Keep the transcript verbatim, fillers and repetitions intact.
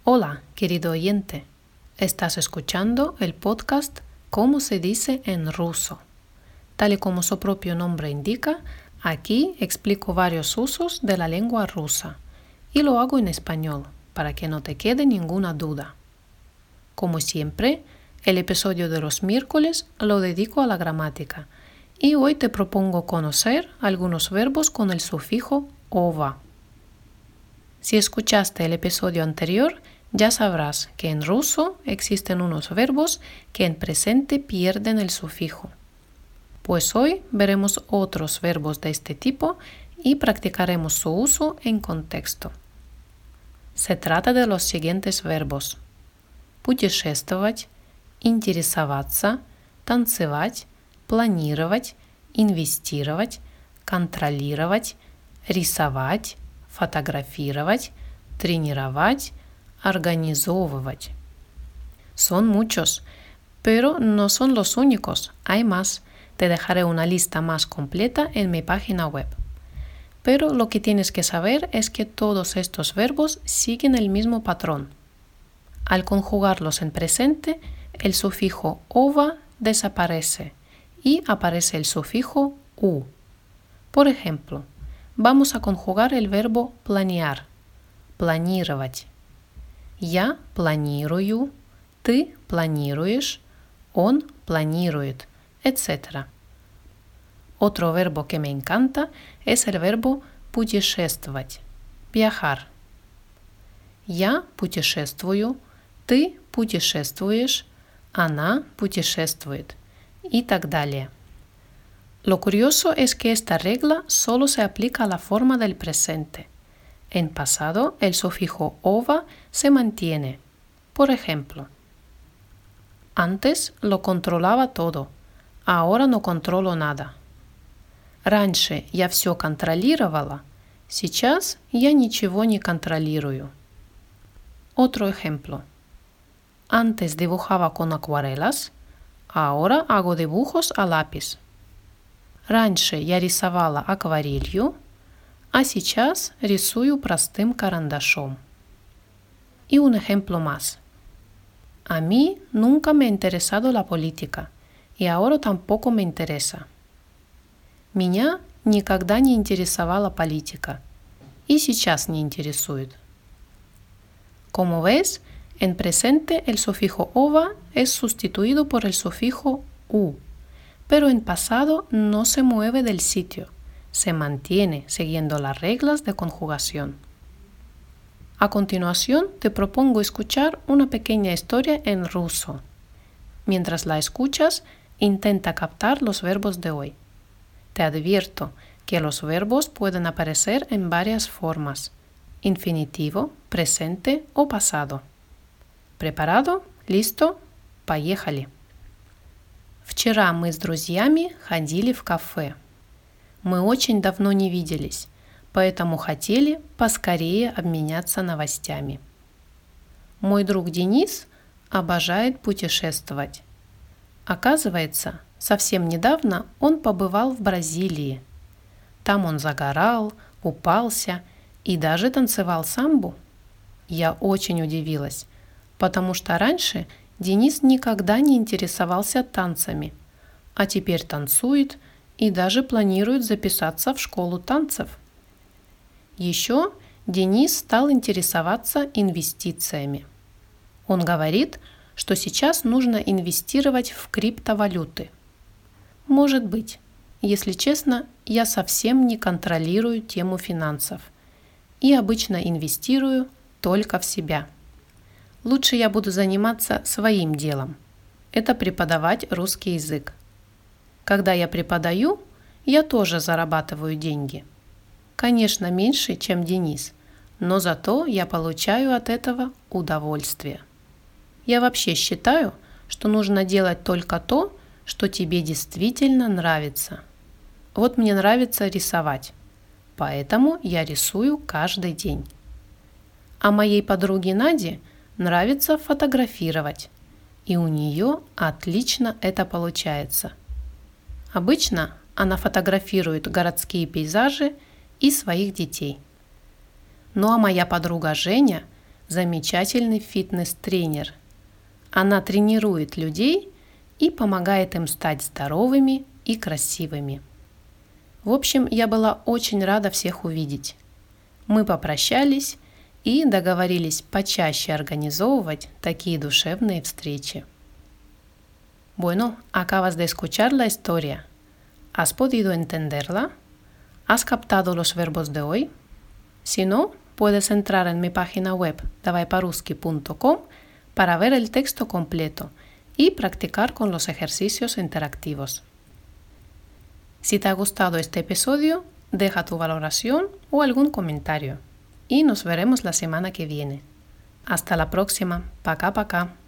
Hola, querido oyente. Estás escuchando el podcast ¿Cómo se dice en ruso? Tal y como su propio nombre indica, aquí explico varios usos de la lengua rusa y lo hago en español para que no te quede ninguna duda. Como siempre, el episodio de los miércoles lo dedico a la gramática y hoy te propongo conocer algunos verbos con el sufijo ova. Si escuchaste el episodio anterior, ya sabrás que en ruso existen unos verbos que en presente pierden el sufijo. Pues hoy veremos otros verbos de este tipo y practicaremos su uso en contexto. Se trata de los siguientes verbos: путешествовать, интересоваться, танцевать, планировать, инвестировать, контролировать, рисовать, фотографировать, тренировать, organizovывать. Son muchos, pero no son los únicos, hay más. Te dejaré una lista más completa en mi página web. Pero lo que tienes que saber es que todos estos verbos siguen el mismo patrón. Al conjugarlos en presente, el sufijo ova desaparece y aparece el sufijo u. Por ejemplo, vamos a conjugar el verbo planear, планировать. Я планирую, ты планируешь, он планирует, etcétera. Otro verbo que me encanta es el verbo путешествовать, viajar. Я путешествую, ты путешествуешь, она путешествует y так далее. Lo curioso es que esta regla solo se aplica a la forma del presente. En pasado, el sufijo ova se mantiene. Por ejemplo, antes lo controlaba todo, ahora no controlo nada. Раньше я все контролировала, сейчас я ничего не контролирую. Otro ejemplo. Antes dibujaba con acuarelas, ahora hago dibujos a lápiz. Раньше я рисовала акварелью, а сейчас рисую простым карандашом. Y un ejemplo más. A mí nunca me ha interesado la política, y ahora tampoco me interesa. Меня никогда не интересовала политика, y сейчас не интересует. Como ves, en presente el sufijo ova es sustituido por el sufijo u, pero en pasado no se mueve del sitio, se mantiene siguiendo las reglas de conjugación. A continuación, te propongo escuchar una pequeña historia en ruso. Mientras la escuchas, intenta captar los verbos de hoy. Te advierto que los verbos pueden aparecer en varias formas: infinitivo, presente o pasado. ¿Preparado? ¿Listo? Поехали! Вчера мы с друзьями ходили в кафе. Мы очень давно не виделись, поэтому хотели поскорее обменяться новостями. Мой друг Денис обожает путешествовать. Оказывается, совсем недавно он побывал в Бразилии. Там он загорал, купался и даже танцевал самбу. Я очень удивилась, потому что раньше Денис никогда не интересовался танцами, а теперь танцует и даже планирует записаться в школу танцев. Еще Денис стал интересоваться инвестициями. Он говорит, что сейчас нужно инвестировать в криптовалюты. Может быть, если честно, я совсем не контролирую тему финансов и обычно инвестирую только в себя. Лучше я буду заниматься своим делом. Это преподавать русский язык. Когда я преподаю, я тоже зарабатываю деньги. Конечно, меньше, чем Денис, но зато я получаю от этого удовольствие. Я вообще считаю, что нужно делать только то, что тебе действительно нравится. Вот мне нравится рисовать, поэтому я рисую каждый день. А моей подруге Наде нравится фотографировать, и у нее отлично это получается. Обычно она фотографирует городские пейзажи и своих детей. Ну а моя подруга Женя замечательный фитнес-тренер. Она тренирует людей и помогает им стать здоровыми и красивыми. В общем, я была очень рада всех увидеть. Мы попрощались и договорились почаще организовывать такие душевные встречи. Bueno, acabas de escuchar la historia. ¿Has podido entenderla? ¿Has captado los verbos de hoy? Si no, puedes entrar en mi página web davai paruski punto com para ver el texto completo y practicar con los ejercicios interactivos. Si te ha gustado este episodio, deja tu valoración o algún comentario y nos veremos la semana que viene. Hasta la próxima. Пока-пока.